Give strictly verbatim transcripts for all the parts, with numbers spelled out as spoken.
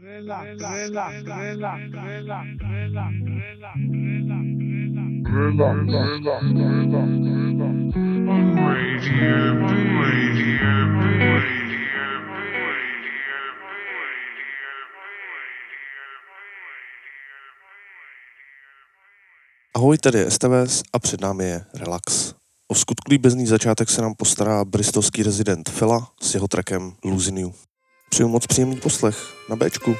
Ahoj, tady je S T V S a před námi je Relax. O vskutku líbezný začátek se nám postará bristolský rezident Fela s jeho trackem Losing You. Přeju moc příjemný poslech na Bčku.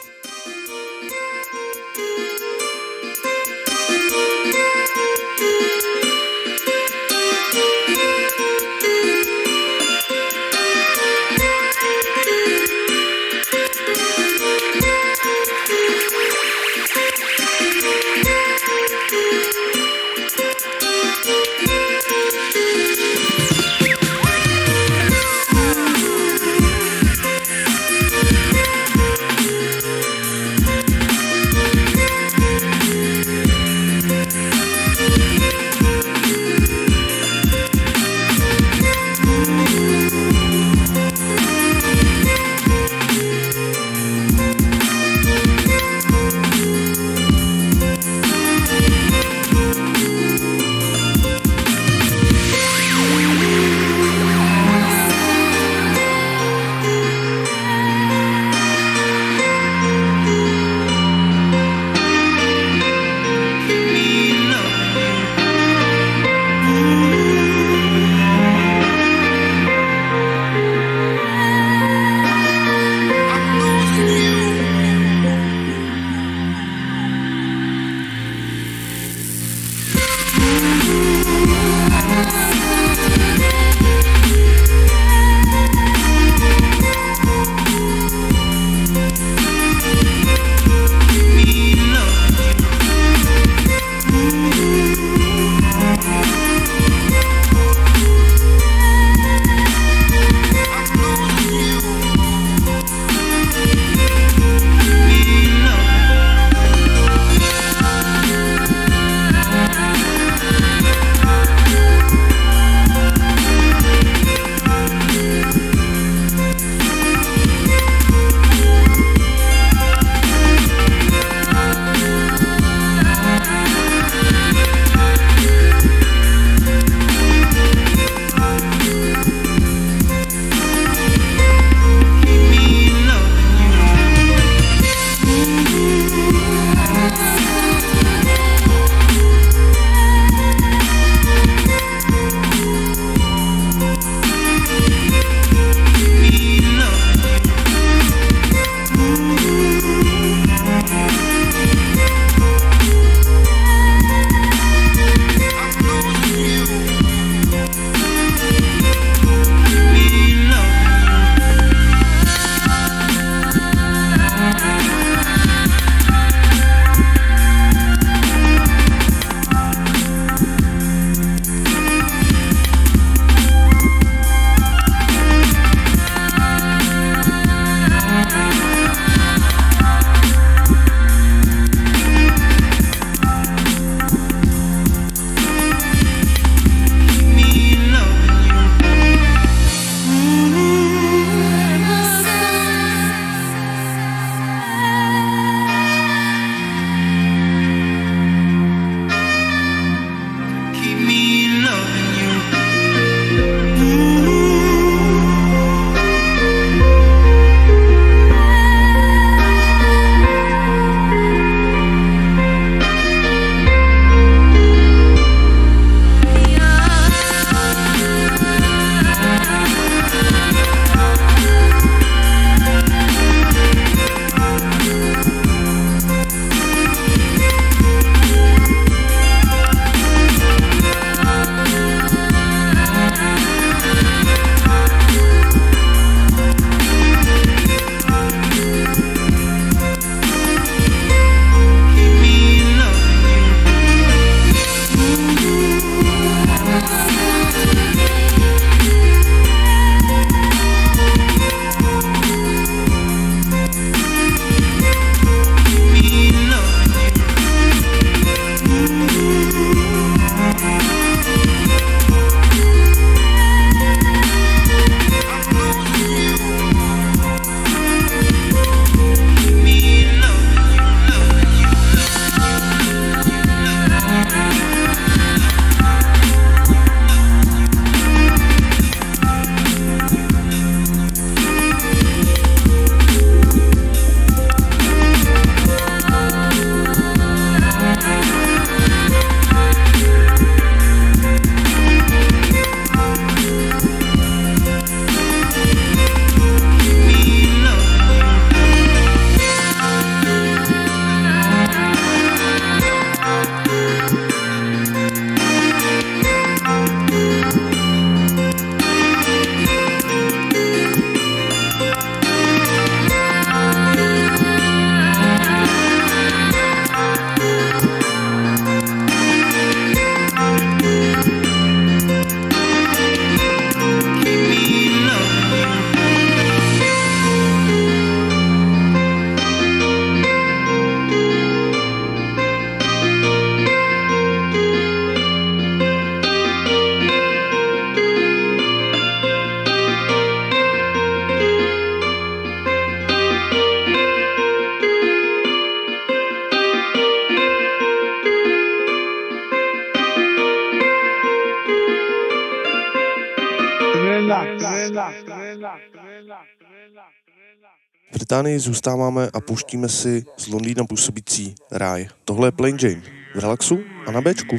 V Británii zůstáváme a pouštíme si z Londýna působící ráj. Tohle je Plain Jane v relaxu a na Bčku.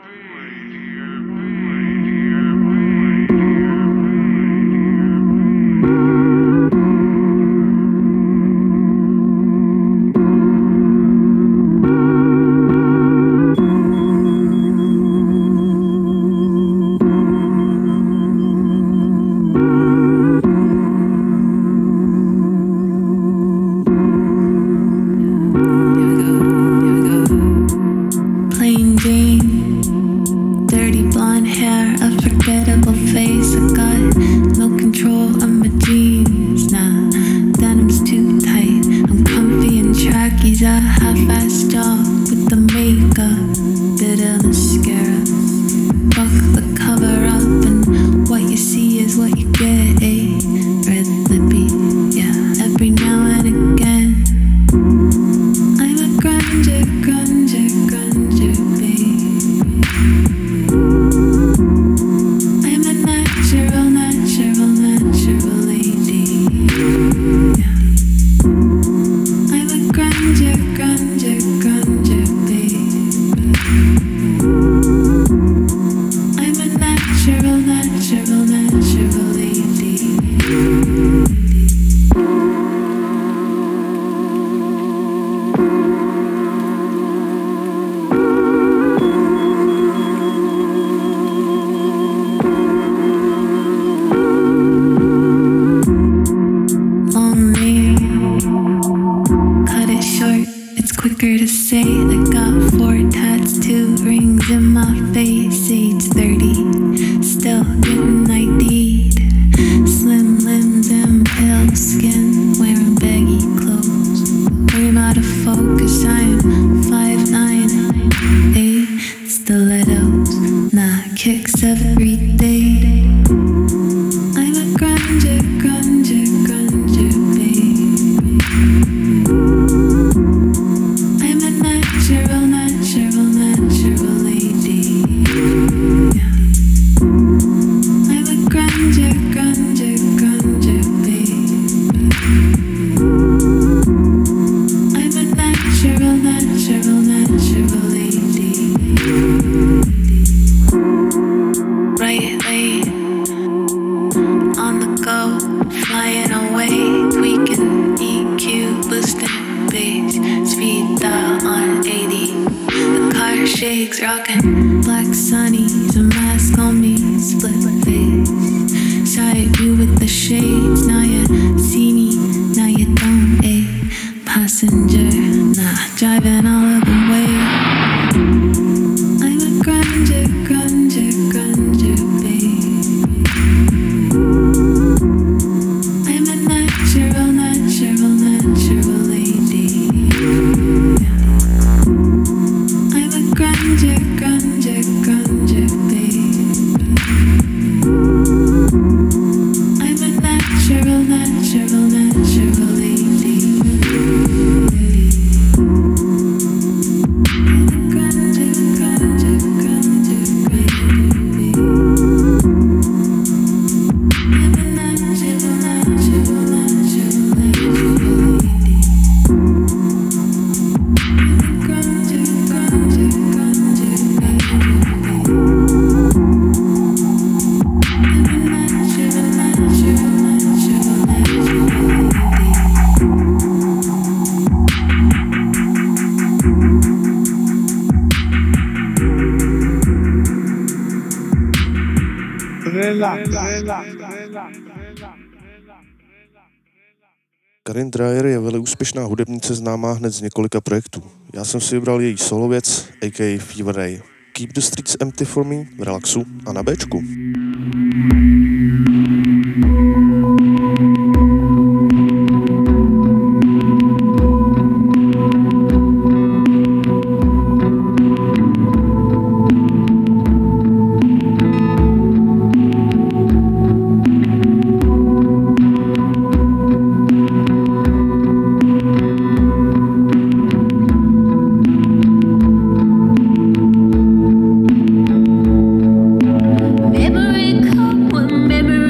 Karin Dreyer je velice úspěšná hudebnice známá hned z několika projektů. Já jsem si vybral její solo věc, a k a. Fever Ray. Keep the Streets Empty for Me v relaxu a na Bčku. Memory cup with memory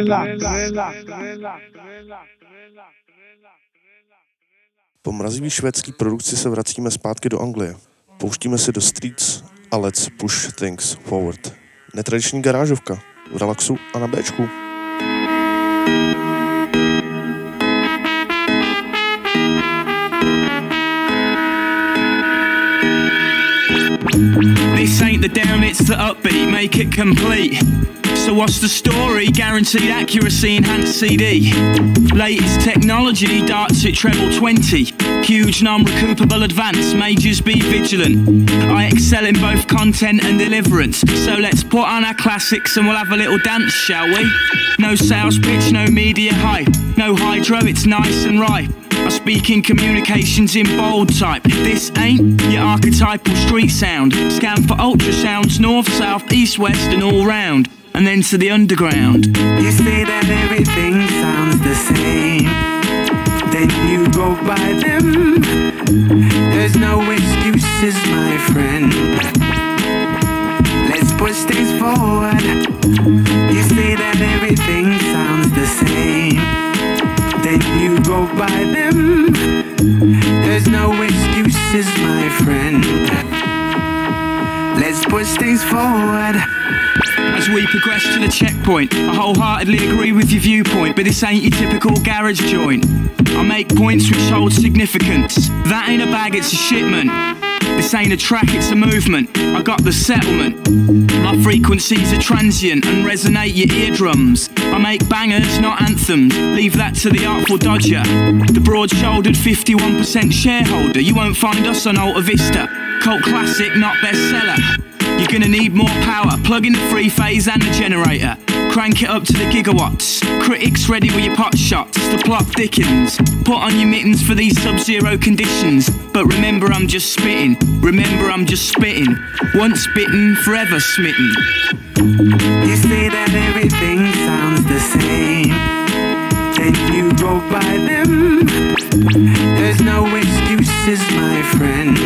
Po mrazivý švédský produkci se vracíme zpátky do Anglie. Pouštíme si do Streets a Let's Push Things Forward. Netradiční garážovka v Relaxu a na Béčku. This ain't the down, it's the upbeat, make it complete. So what's the story? Guaranteed accuracy, enhanced C D. Latest technology, darts at treble twenty. Huge non-recoupable advance, majors be vigilant. I excel in both content and deliverance. So let's put on our classics and we'll have a little dance, shall we? No sales pitch, no media hype. No hydro, it's nice and ripe. I speak in communications in bold type. This ain't your archetypal street sound. Scan for ultrasounds, north, south, east, west and all round. And then to the underground. You say that everything sounds the same, then you go by them. There's no excuses, my friend. Let's push things forward. You say that everything sounds the same, then you go by them. There's no excuses, my friend. Let's push things forward. As we progress to the checkpoint, I wholeheartedly agree with your viewpoint, but this ain't your typical garage joint. I make points which hold significance. That ain't a bag, it's a shipment. This ain't a track, it's a movement. I got the settlement. My frequencies are transient and resonate your eardrums. I make bangers, not anthems. Leave that to the Artful Dodger. The broad-shouldered fifty-one percent shareholder. You won't find us on Alta Vista. Cult classic, not bestseller. You're gonna need more power. Plug in the three phase and the generator. Crank it up to the gigawatts. Critics ready with your pot shots. The plot thickens. Put on your mittens for these sub-zero conditions. But remember I'm just spitting. Remember I'm just spitting. Once bitten, forever smitten. You say that everything sounds the same, then you go by them. There's no excuses, my friend.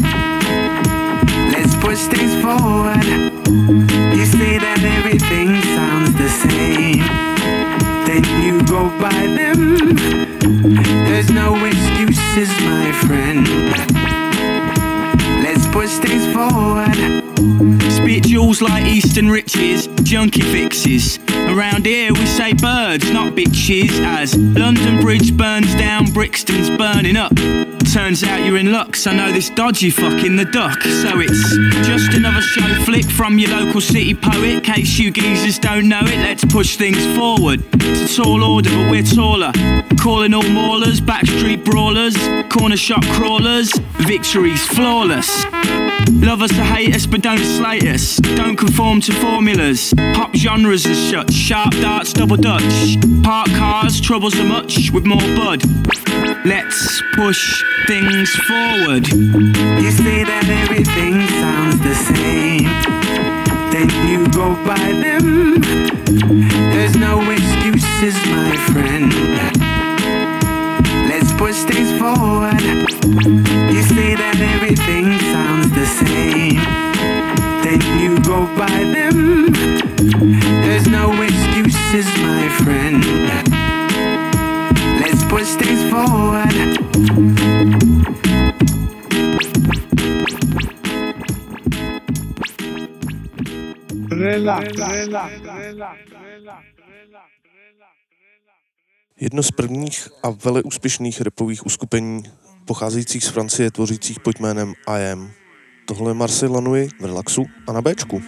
Let's push things forward. You say that everything sounds the same, then you go by them. There's no excuses, my friend. Let's push things forward. Spit jewels like Eastern riches, junkie fixes. Around here we say birds, not bitches. As London Bridge burns down, Brixton's burning up. Turns out you're in luck, so I know this dodgy fucking the duck. So it's just another show flick from your local city poet. Case you geezers don't know it, let's push things forward. It's a tall order, but we're taller. Calling all maulers, backstreet brawlers, corner shop crawlers. Victory's flawless. Love us or hate us, but don't slate us. Don't conform to formulas. Pop genres are shut. Sharp darts, double dutch. Park cars, troubles are much with more bud. Let's push things forward. You say that everything sounds the same, then you go by them. There's no excuses, my friend. Let's push things forward. You say that everything sounds the same, then you go by them. There's no excuses, my friend. Let's push things forward. Jedno z prvních a veleúspěšných rapových uskupení pocházejících z Francie tvořících pod jménem I Am. Tohle je Marseille Lanui v Relaxu a na Béčku.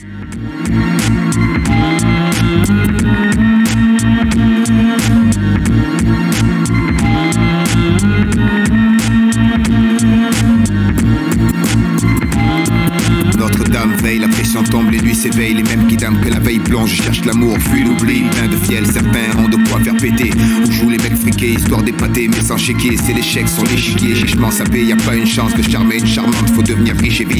Notre-Dame veille, la pression tombe, les nuits s'éveillent. Les mêmes qui dament que la veille blanche. Je cherche l'amour, fuis l'oubli, plein de fiel. Certains ont de quoi faire péter. On joue les mecs friqués, histoire d'épater. Mais sans chéquier, c'est l'échec sur l'échiquier. Chichement sapé, y a pas une chance de charmer une charmante. Faut devenir riche et vite. Quitte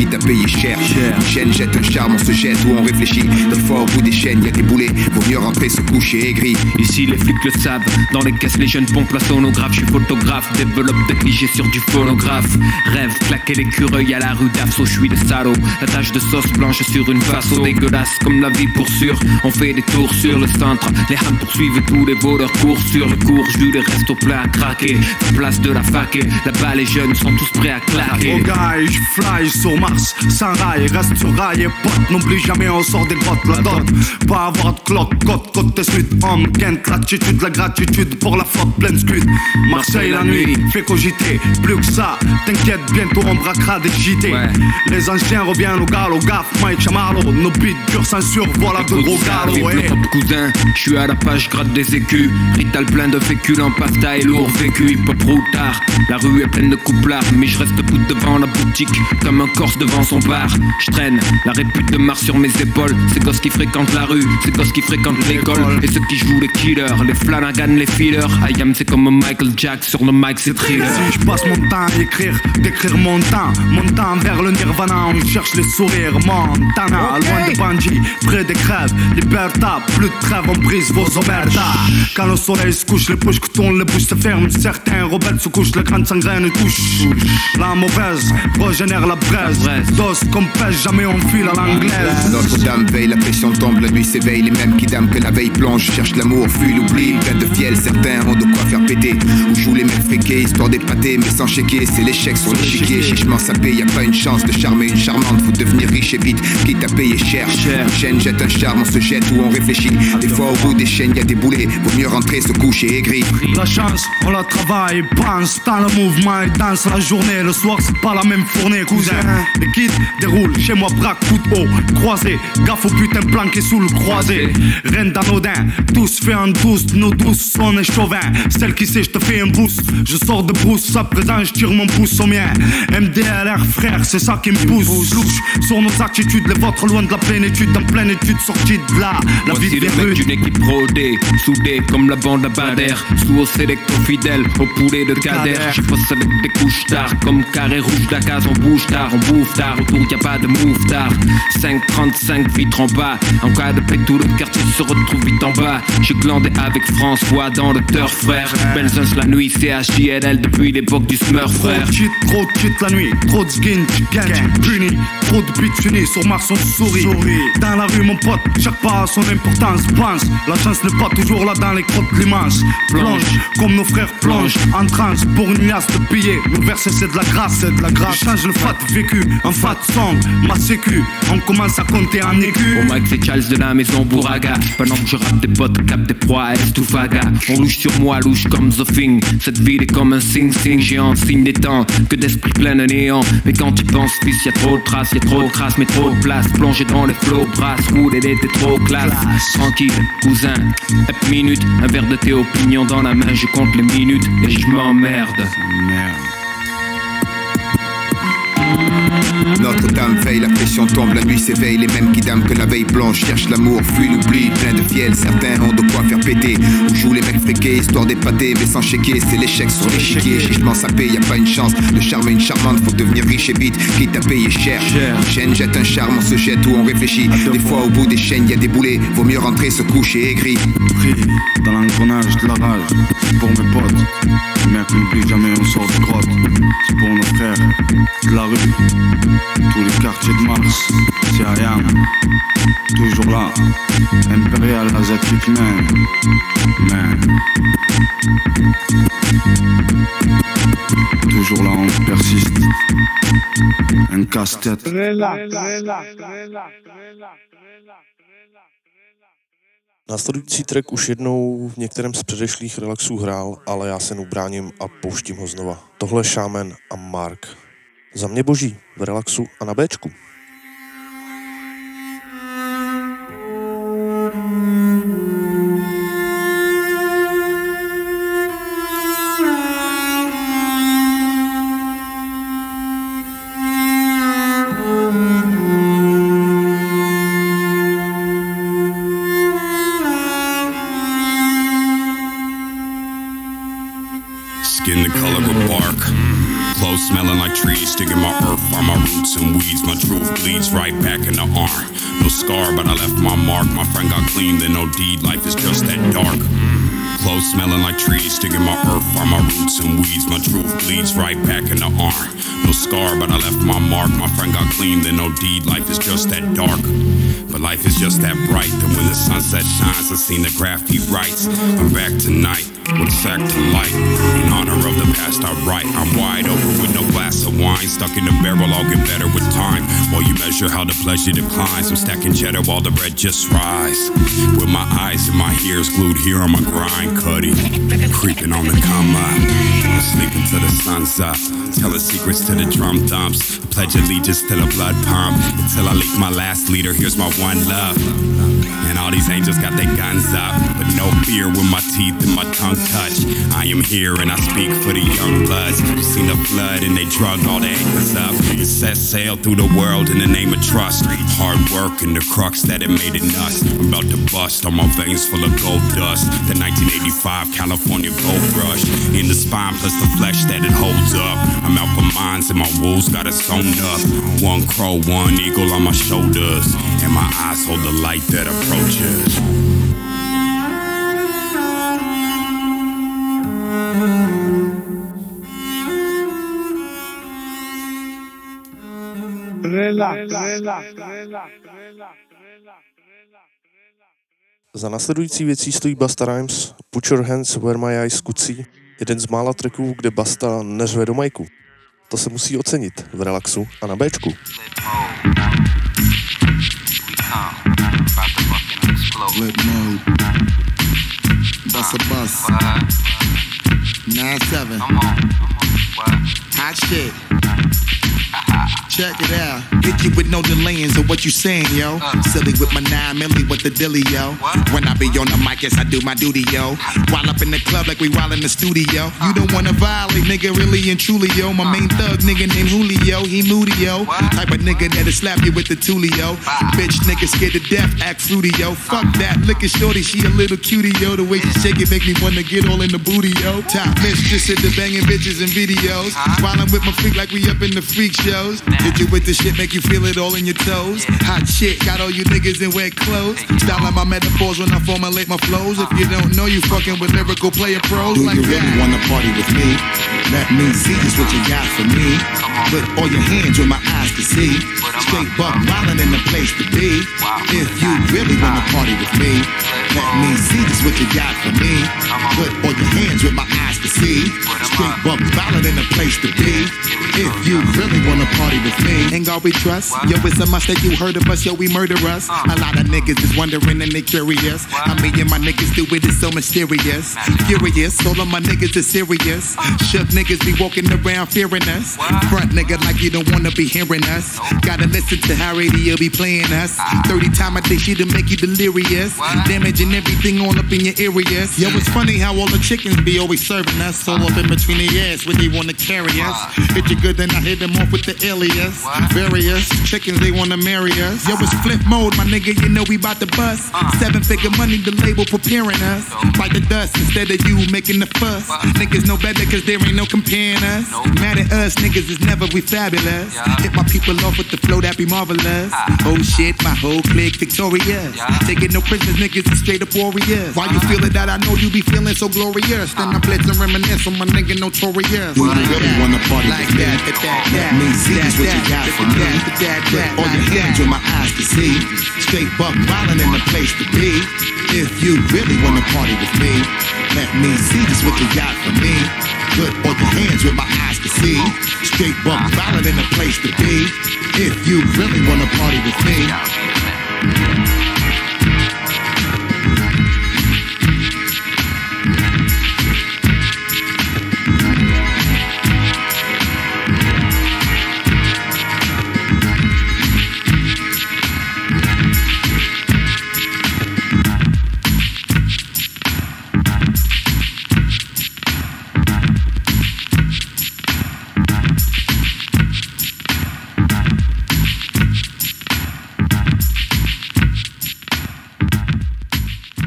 quitte à payer cher. Une chaîne jette un charme, on se jette ou on réfléchit. Des fois au bout des chaînes, y'a des boulets, vaut mieux rentrer se coucher aigri. Ici les flics le savent, dans les caisses les jeunes pompent la sonographe. Je suis photographe, développe des clichés sur du phonographe. Rêve, claquer l'écureuil à la rue d'Afso, je suis le salaud. La tache de sauce blanche sur une face dégueulasse comme la vie pour sûr. On fait des tours sur le centre, les hams poursuivent tous les voleurs courent sur le cours. Jus les restes au plat à craquer, place de la fac et là-bas les jeunes sont tous prêts à claquer. Oh guy, je fly sur Mars, sans rail, reste sur rail et pote. N'oublie jamais on sort des grottes, la dot. Pas avoir de cloque, côte, côte tes suites. Homme, Kent, l'attitude, la gratitude pour la faute pleine scud. Marseille la nuit, fait cogiter, plus que ça. T'inquiète, bientôt on braquera des J T. Ouais. Les anciens reviennent au galop, gaffe, Mike Chamarlo. Nos beats dure censure, voilà de gros galops. Ouais. Cousin, je suis à la page, gratte des écus. Rital plein de féculents, pasta et lourd vécu. Hip-hop routard, la rue est pleine de couplards. Mais je reste debout devant la boutique, comme un corse devant son bar. Je traîne la répute de Mars sur mes épaules. Ces gosses qui fréquentent la rue, ces gosses qui fréquentent l'école. Et ceux qui jouent les killers, les Flanagan, les fillers. I am c'est comme Michael Jack, sur le mic c'est thriller. Si je passe mon temps à écrire, d'écrire mon temps. Mon temps vers le nirvana, on cherche les sourires. Montana, okay. Loin des bandits, près des crèves. Liberta, plus de trêve, on brise vos omertas. Quand le soleil se couche, les poches que tournent, les bouches se ferment. Certains rebelles se couchent, la grande sangraine touche. La mauvaise régénère la braise. Dos comme pêche, jamais on file à l'anglaise. Notre-Dame veille, la pression tombe, la nuit s'éveille. Les mêmes qui dament que la veille plonge, cherchent l'amour, fuient l'oubli. Plein de fiel, certains ont de quoi faire péter. Ou jouent les mecs friqués, histoire d'épater, mais sans chéquer. C'est l'échec sur l'échiquier, chichement sapé. Y'a pas une chance de charmer une charmante. Faut devenir riche et vite, quitte à payer cher. Une chaîne jette un charme, on se jette ou on réfléchit. Des fois au bout des chaînes y'a des boulets, vaut mieux rentrer se coucher aigri. La chance, on la travaille, pense dans le mouvement et danse la journée. Le soir c'est pas la même fournée, cousin. Les kits déroulent, chez moi braque tout haut, croisé. Gaffe au putain planqué sous le croisé. Rien d'anodin, tous fait en douce, nos douces on est chauvin. Celle qui sait je te fais un boost, je sors de brousse, à présent je tire mon pouce au mien. M D L R frère, c'est ça qui me pousse. Louche sur nos attitudes, les vôtres loin de la plénitude. En pleine étude sortie de là, la voici vie des les rues. D'une équipe rodée, soudée comme la bande à Bader. Sous au sélecto fidèle, au poulet de Kader. J'y passe avec des couches tard, comme carré rouge d'Acaz. On bouge tard, on bouffe tard, autour y'a pas de move tard. cinq trente-cinq vitres en bas, en cas de paix tout le quartier se retrouve vite en bas. J'ai glandé avec François dans le turf frère. Benzins la nuit, C H I L L depuis l'époque du Smurf frère. Trop de cheat, trop de cheat la nuit, trop de skin, gang, puni. Trop de buts unis, sur Mars on sourit. Dans la rue mon pote, chaque pas a son importance. Pense, la chance n'est pas toujours là dans les crottes de l'immense. Plonge, comme nos frères plongent, en transe pour une liasse de billets. Le verset c'est de la grâce, c'est de la grâce. Je change le fat vécu, en fat song, ma sécu. On commence à compter en écu. Au mic c'est Charles de la maison Bouraga. Pendant que je rappe des potes, cap des proies, Estoufaga. On louche sur moi, louche comme The Thing. Cette ville est comme un sing-sing géant, signe des temps, que d'esprit plein de néant. Mais quand tu penses, fils, y'a trop de traces, y'a trop de crasse, mais trop de place. Plongé dans les flots, brasse, roule, elle était trop classe. Tranquille, cousin, hep minute, un verre de thé opinion dans la main, je compte les minutes et je m'emmerde. Merde. Notre-Dame veille, la pression tombe, la nuit s'éveille. Les mêmes qui dament que la veille plonge, cherchent l'amour, fuient l'oubli. Plein de fiel, certains ont de quoi faire péter. Ou jouent les mecs friqués, histoire d'épater, mais sans chéquer. C'est l'échec sur l'échiquier, chichement sapé, y'a pas une chance de charmer une charmante. Faut devenir riche et vite, quitte à payer cher. Une chaîne jette un charme, on se jette ou on réfléchit. Des fois au bout des chaînes y'a des boulets, vaut mieux rentrer se coucher aigri. Pris dans l'engrenage de la rage, c'est pour mes potes. Les mecs n'oublient jamais on sort de grotte. C'est pour nos frères de la rue. Tous les quartiers de Mars, c'est I am, toujours là, Impérial Asiatique Man, man. Toujours là, on persiste, un casse-tête. Následující track už jednou v některém z předešlých relaxů hrál, ale já se neubráním a pouštím ho znova. Tohle je Shaman a Mark. Za mě boží, v relaxu a na béčku. Skin the color of bark, close smelling like trees, digging my earth, find my roots and weeds. My truth bleeds right back in the arm. No scar, but I left my mark. My friend got clean, then no deed. Life is just that dark. Clothes smelling like trees, digging my earth, find my roots and weeds. My truth bleeds right back in the arm. No scar, but I left my mark. My friend got clean, then no deed. Life is just that dark. But life is just that bright. And when the sunset shines, I've seen the graffiti writes. I'm back tonight with a sack to light. In honor of the past I write. I'm wide open with no glass of wine. Stuck in the barrel, I'll get better with time. While you measure how the pleasure declines, I'm stacking cheddar while the bread just rise. With my eyes and my ears glued here on my grind, Cuddy. Creeping on the come up. I'm sleeping till the sun's up. Telling secrets to the drum thumps. I pledge allegiance to the blood pump. Until I leak my last leader, here's my one love. And all these angels got their guns up, but no fear when my teeth and my tongue touch. I am here and I speak for the young bloods who seen the flood and they drug all the anchors up and set sail through the world in the name of trust. Hard work and the crux that it made it nuts. I'm about to bust on my veins full of gold dust. The nineteen eighty-five California gold rush in the spine plus the flesh that it holds up. I'm out for mines and my wolves got it sewn up. One crow, one eagle on my shoulders, and my eyes hold the light that approaches. Za následující věcí stojí Busta Rhymes, Put Your Hands Where My Eyes Could See, jeden z mála tracků, kde Busta neřve do majku. To se musí ocenit v relaxu a na Bčku. Flip mode. Bust a bus. nine seven. Hot shit. Check it out. Hit you with no delaying, so what you saying, yo? Uh, Silly with my nine milli with the dilly, yo. What? When I be on the mic, yes, I do my duty, yo. While up in the club like we while in the studio. Uh, you don't wanna violate, nigga, really and truly, yo. My uh, main thug, nigga named Julio, he moody, yo. What? Type of nigga that'll slap you with the tulio. Bye. Bitch, nigga scared to death, act fruity, yo. Fuck uh, that, look at shorty, she a little cutie, yo. The way she shake it make me wanna get all in the booty, yo. Top mistress at the banging bitches and videos. Uh, While I'm with my freak like we up in the freak shows. Hit you with the shit, make you feel it all in your toes. Hot shit, got all you niggas in wet clothes. Styling my metaphors when I formulate my flows. If you don't know, you fucking with lyrical player pros. Do like you really that. Wanna party with me? Let me see just what you got for me. Put all your hands with my eyes to see. Straight buck wildin' in the place to be. If you really wanna party with me, let me see just what you got for me. Put all your hands with my eyes to see. Straight buck wildin' in the place to be. If you really wanna party with me, ain't God we trust. Yo, it's a must that you heard of us, yo, we murder us. A lot of niggas is wondering and they curious. I mean, and my niggas do it, it's so mysterious. Furious, all of my niggas is serious. Shook niggas be walking around fearing us. Front nigga like you don't wanna be hearing us. Gotta listen to how radio be playing us. thirty times a day she'll make you delirious. Damaging everything all up in your areas. Yo, it's funny how all the chickens be always serving us. All up in between their ass when they wanna carry us. Hit you good, then I hit them off with the alias. Various chickens, they wanna marry us. Yo, it's flip mode, my nigga, you know we bout to bust. Seven figure money, the label preparing us. Bite the dust instead of you making the fuss. Niggas know better cause there ain't no comparing us. Mad at us, niggas is never we fabulous. Hit my people off with the flow that be marvelous. Oh shit, my whole clique victorious. Taking no prisoners, niggas is straight up warriors. Why you feeling that I know you be feeling so glorious? Then I blitz and reminisce on my nigga notorious. Do you really wanna party like with me? that, that, that, Let me see just what you got for me. Put all your hands with my eyes to see. Straight buck wildin' in the place to be. If you really wanna party with me, let me see just what you got for me. Put all your hands with my eyes to see. Straight buck wildin' in the place to be. If you really wanna party with me.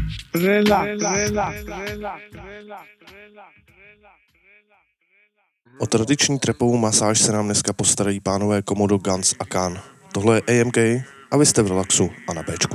Relax, relax, relax, relax, relax, relax. O tradiční trapovou masáž se nám dneska postarají pánové Komodo, Guns a Khan. Tohle je A M K a vy jste v relaxu a na Bčku.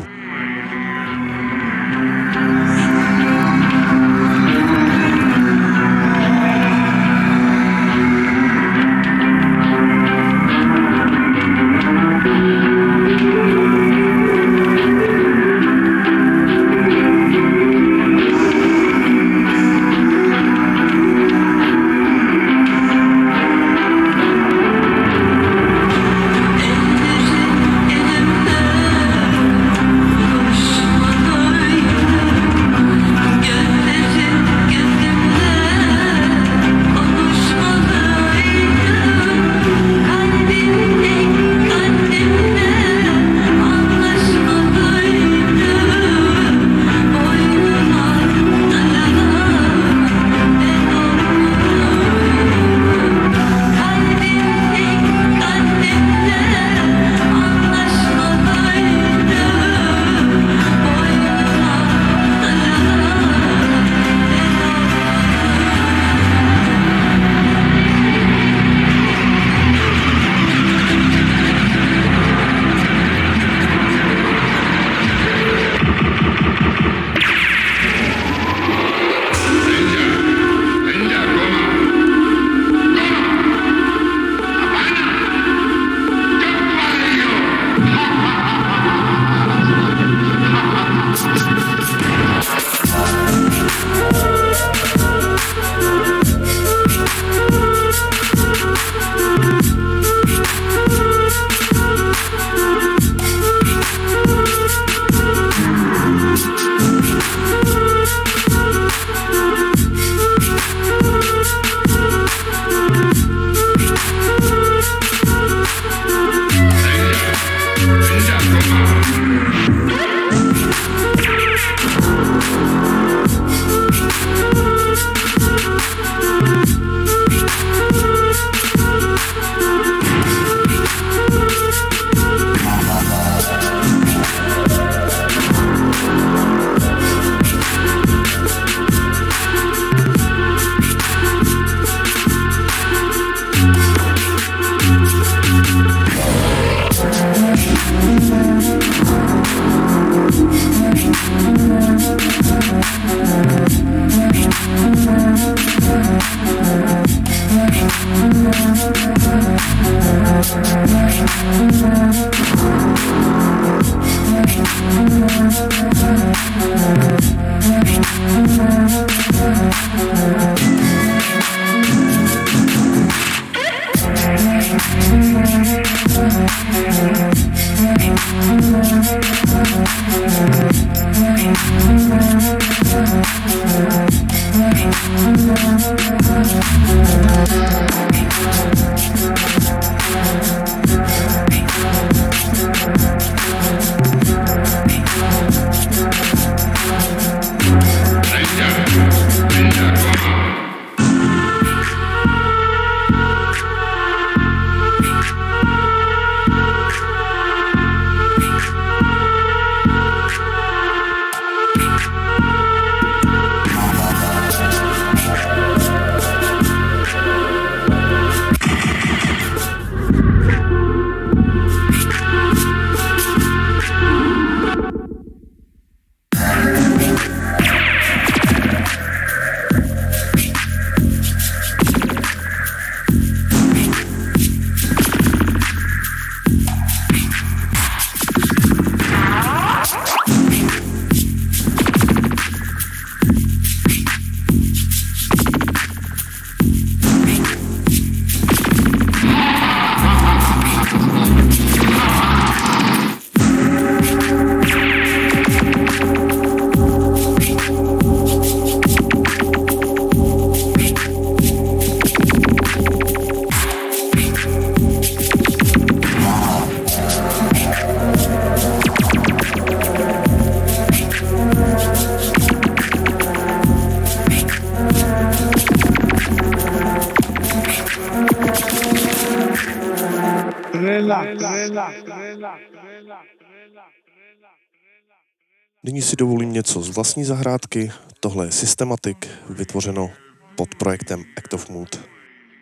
Nyní si dovolím něco z vlastní zahrádky. Tohle je Systematic, vytvořeno pod projektem Act of Mood.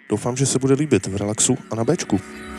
Doufám, že se bude líbit v Relaxu a na Bčku.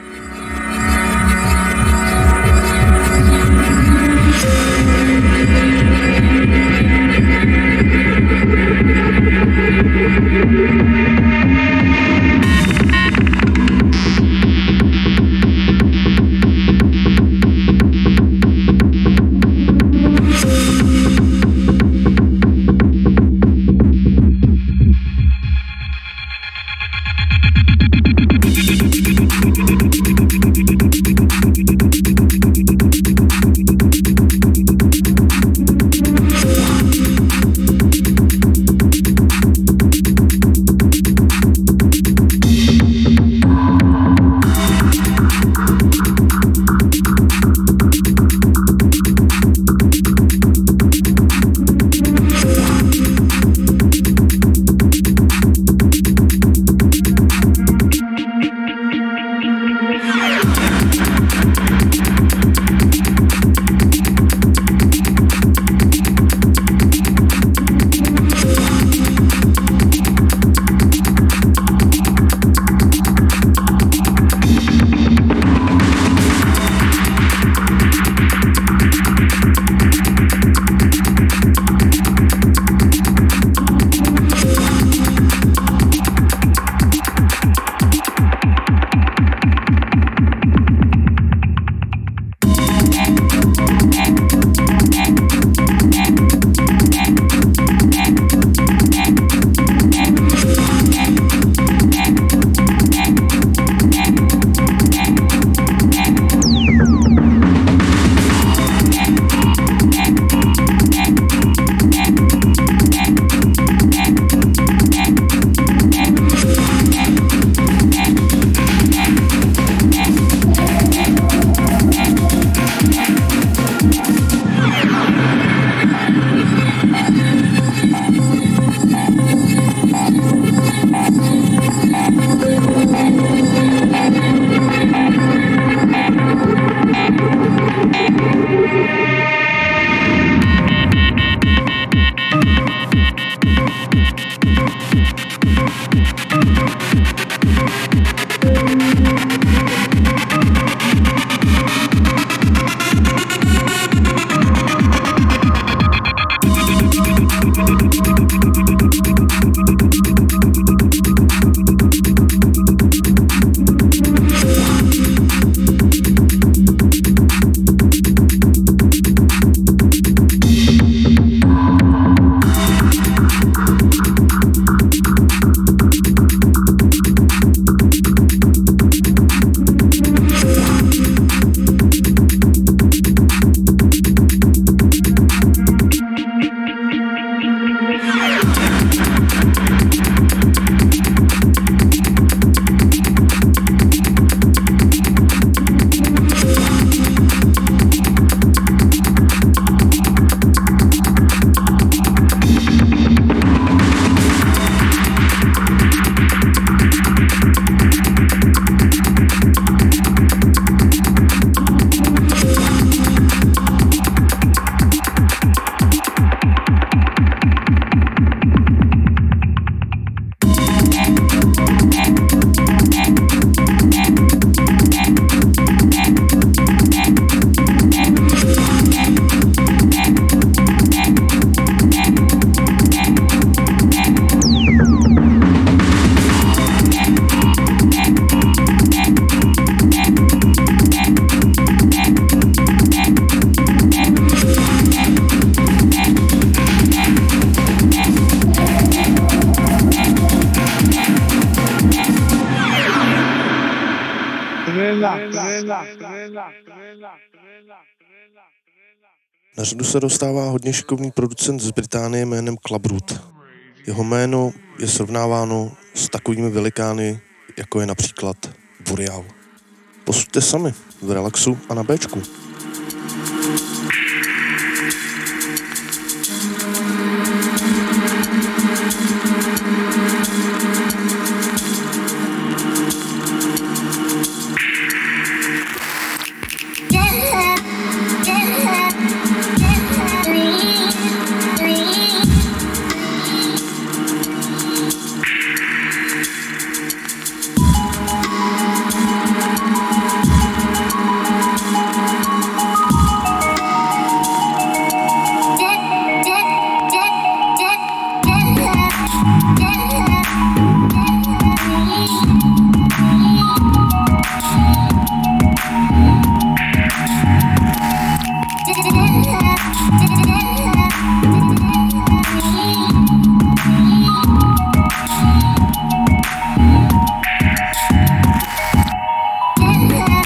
Na řadu se dostává hodně šikovný producent z Británie jménem Clubroot. Jeho jméno je srovnáváno s takovými velikány, jako je například Boreal. Posuďte sami v Relaxu a na Bčku.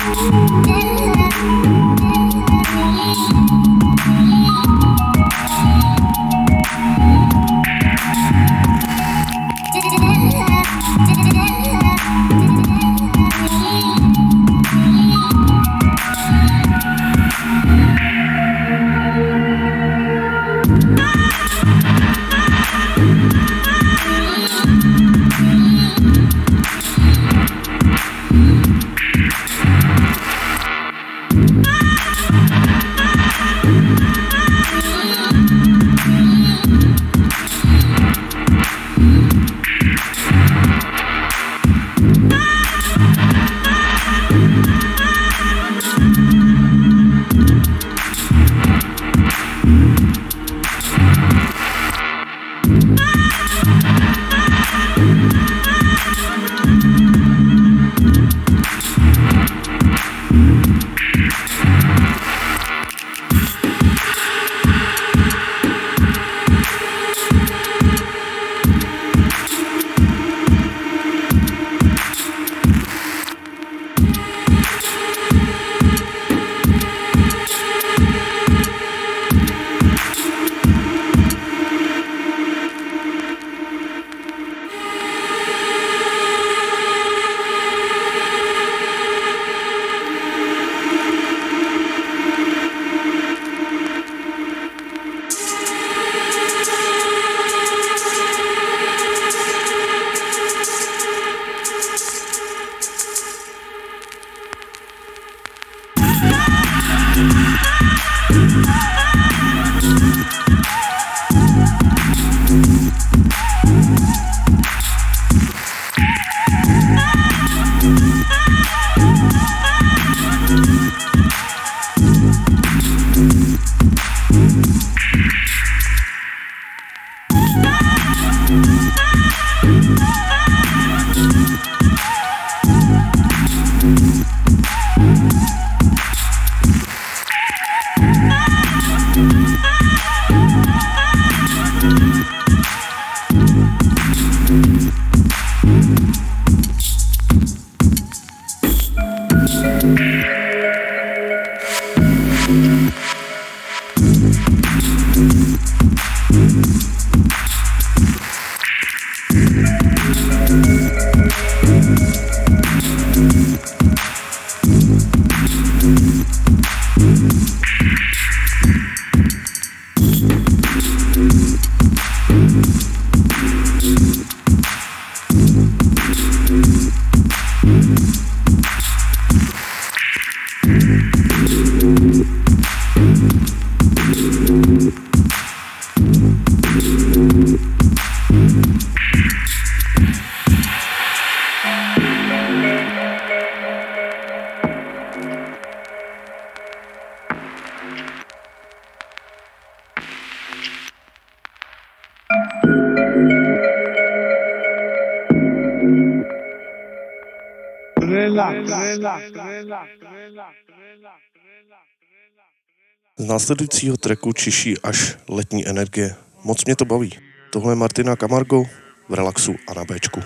Z následujícího tracku čiší až letní energie. Moc mě to baví. Tohle je Martina Camargo v Relaxu a na Béčku.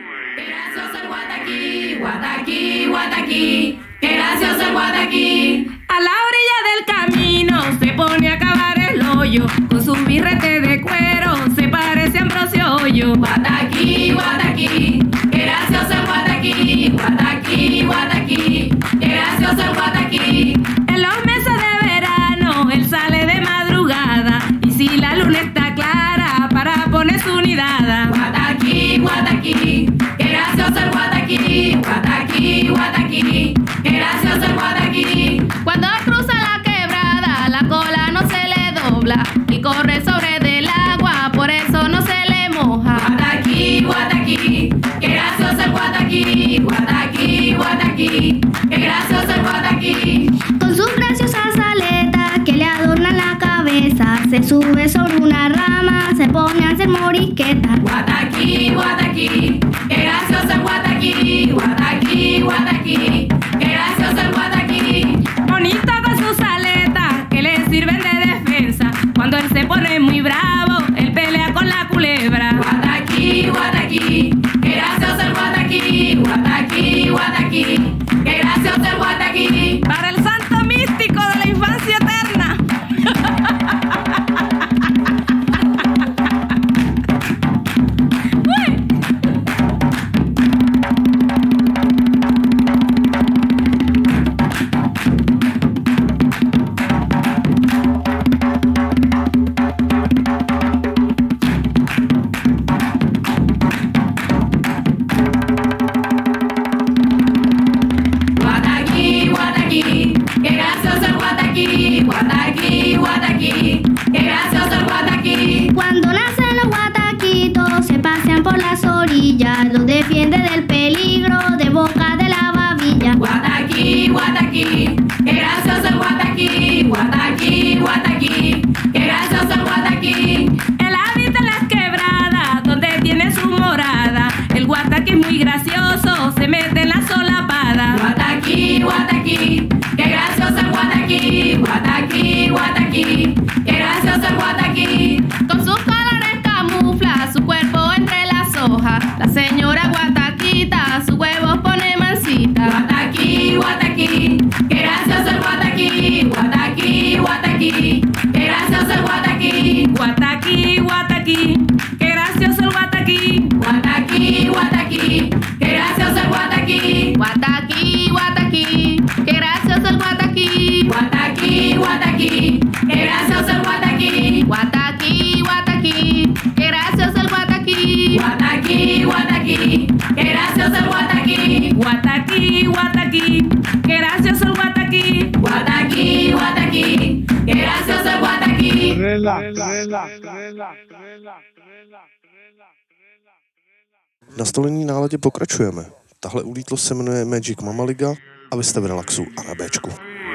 A la orilla del camino se pone a cavar el hoyo con su birrete de cuero, se parece a Ambrosio Hoyo. Guataquí, guataquí, qué gracioso el guataquí, guataquí, guataquí, qué gracioso el guataquí. En los meses de verano él sale de madrugada y si la luna está clara para poner su nidada. Guataquí, guataquí, qué gracioso el guataquí, guataquí, guataquí, qué gracioso el guataquí. Cuando cruza la quebrada la cola no se le dobla y corre sobre del agua, por eso no se le moja. Guataquí, guataquí, qué gracioso el guataquí, guataquí, guataquí, qué gracioso el guataquí. Con sus graciosas aletas que le adornan la cabeza, se sube sobre una rama, se pone a hacer morisquetas. Guataquí, guataquí, qué gracioso el guataquí, guataquí, guataquí, qué gracioso el guataquí. Bonito con sus aletas que le sirven de defensa. Cuando él se pone muy bravo, él pelea con la culebra. Guataquí, guataquí, qué gracioso el guataquí, guataquí, guataquí, qué gracioso el guataquí. guataquí, guataquí, qué gracioso el guataquí. Cuando nacen los guataquitos se pasean por las orillas, los defiende del peligro de boca de la babilla. Guataquí, guataquí, qué gracioso el guataquí, guataquí, guataquí, qué gracioso el guataquí. Él habita en las quebradas donde tiene su morada. El guataquí es muy gracioso, se mete en la solapada. Guataquí, guataquí, qué gracioso el guataquí, guataquí, guataquí, qué gracioso el guataquí. Con sus colores camufla su cuerpo entre las hojas. La señora guataquita sus huevos pone mansita. Guataquí, guataquí, qué gracioso el guataquí, guataquí, guataquí, qué gracioso el guataquí. Guataquí, guataquí, qué gracioso el guataquí. Guataquí, guataquí, qué gracioso el guataquí. Guataquí, guataquí, qué gracioso el guataquí. Guataquí, guataquí, qué gracioso el guataquí. Guataquí, guataquí, qué gracioso el guataquí. Guataquí, guataquí, qué gracioso el guataquí. Guataquí, guataquí, qué gracioso el guataquí. Guataquí, guataquí, qué gracioso el guataquí. V nastolený náladě pokračujeme. Tahle ulítlost se jmenuje Magic Mama Liga a vy jste v relaxu a na Bčku.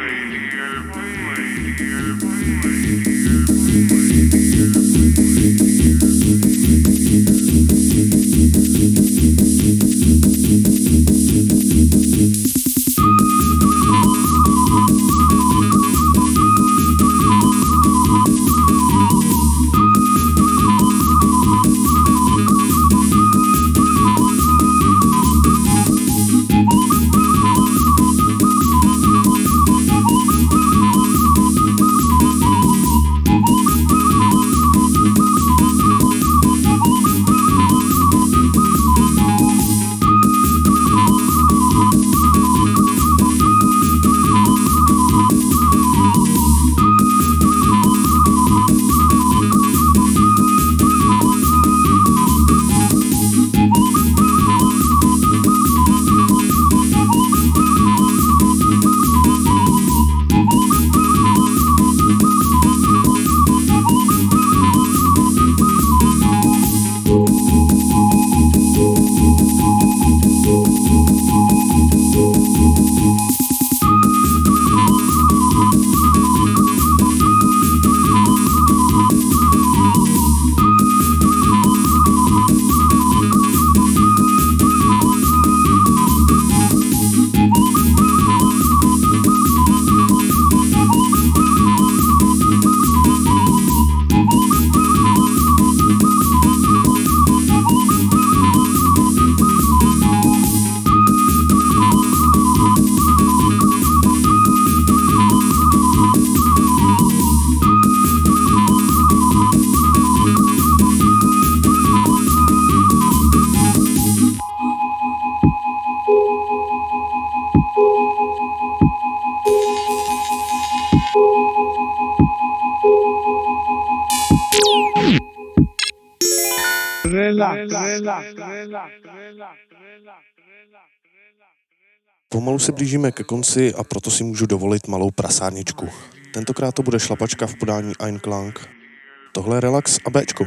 Pomalu se blížíme ke konci a proto si můžu dovolit malou prasárničku. Tentokrát to bude šlapačka v podání Einklang. Tohle je Relax a Bčko.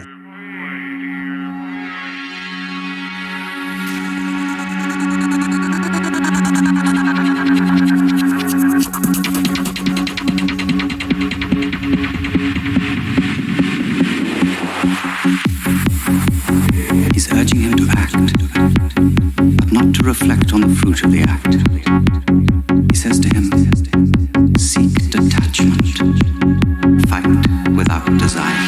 He's urging him to act, but not to reflect on the fruit of the act. He says to him, seek detachment, fight without desire.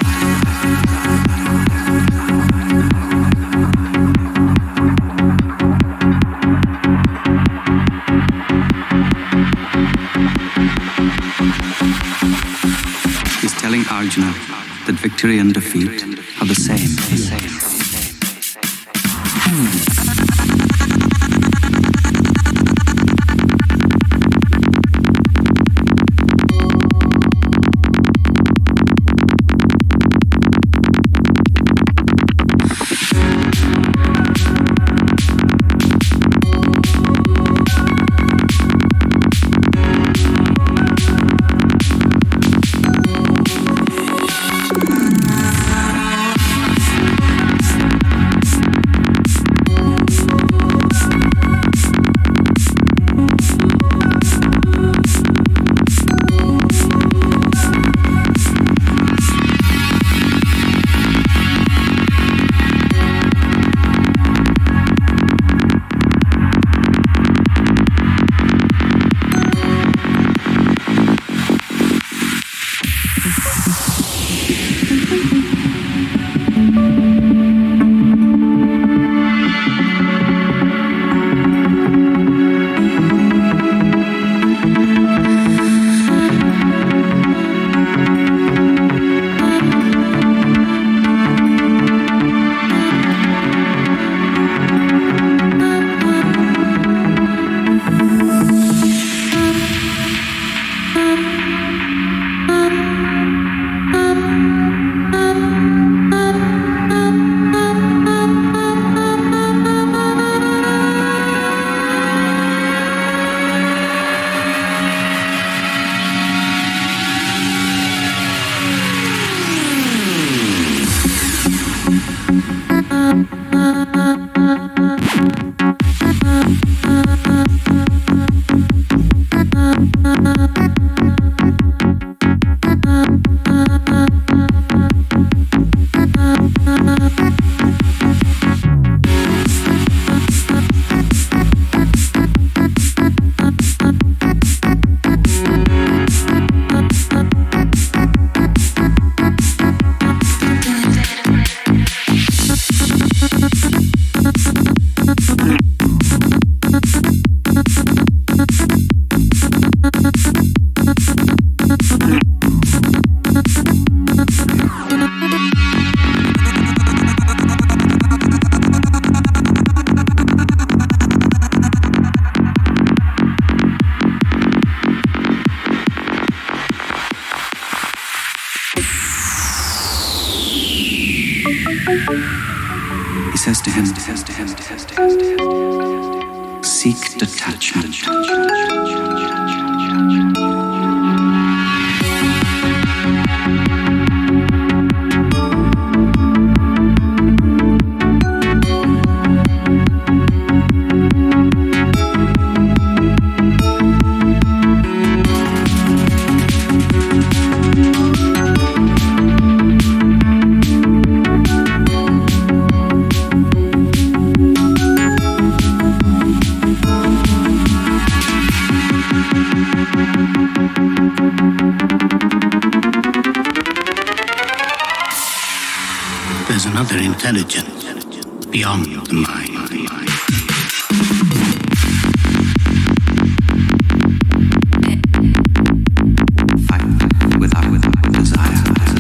He's telling Arjuna that victory and defeat are the same. The same. He says to him, seek detachment. There's another intelligence beyond the mind. Fight without, without desire.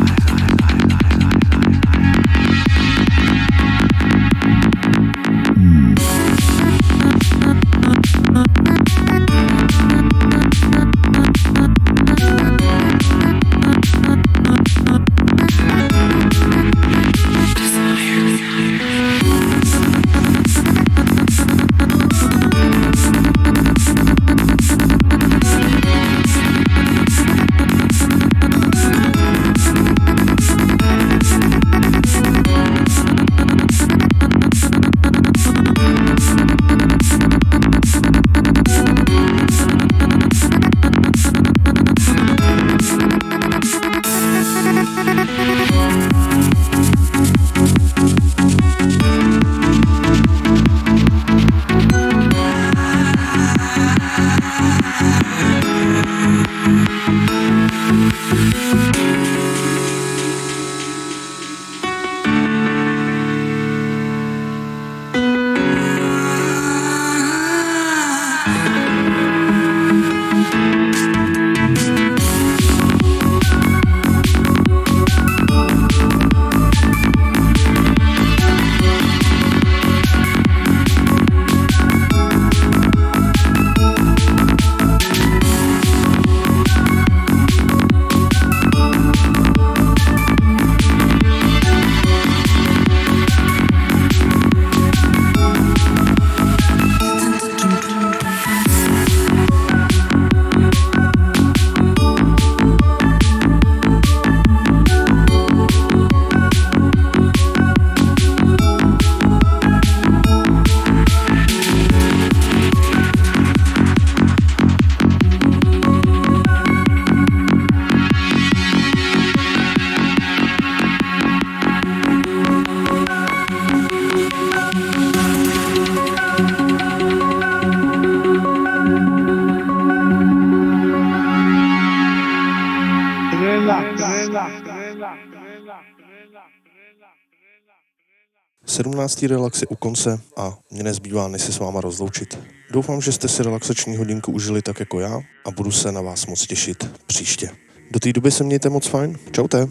sedmnáctý relax je u konce a mě nezbývá, než se s váma rozloučit. Doufám, že jste si relaxační hodinku užili tak jako já a budu se na vás moc těšit příště. Do té doby se mějte moc fajn. Čaute.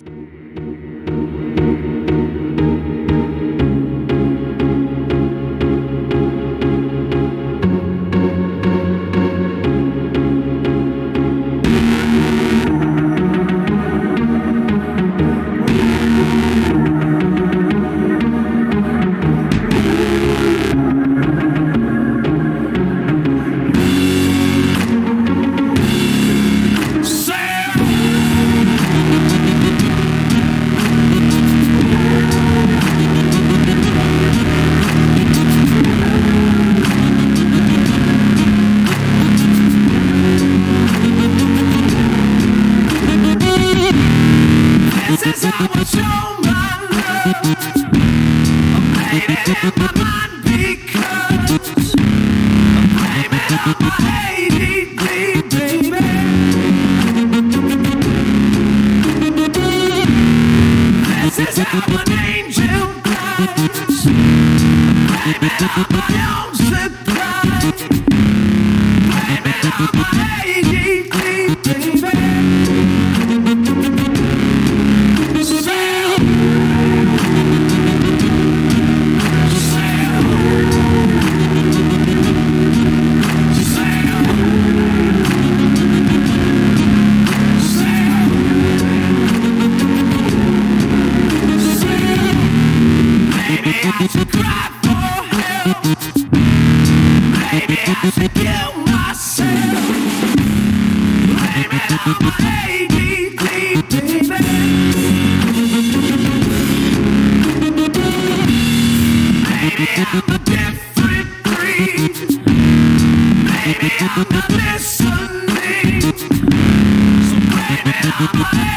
I'm listening, so blame it on my